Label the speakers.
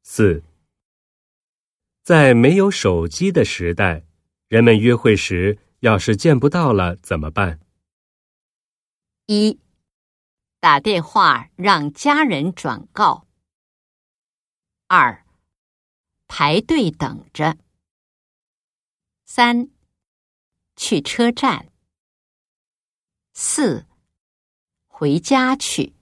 Speaker 1: 4. 在没有手机的时代，人们约会时要是见不到了怎么办
Speaker 2: ？1. 打电话让家人转告。2. 排队等着。3. 去车站。4. 回家去。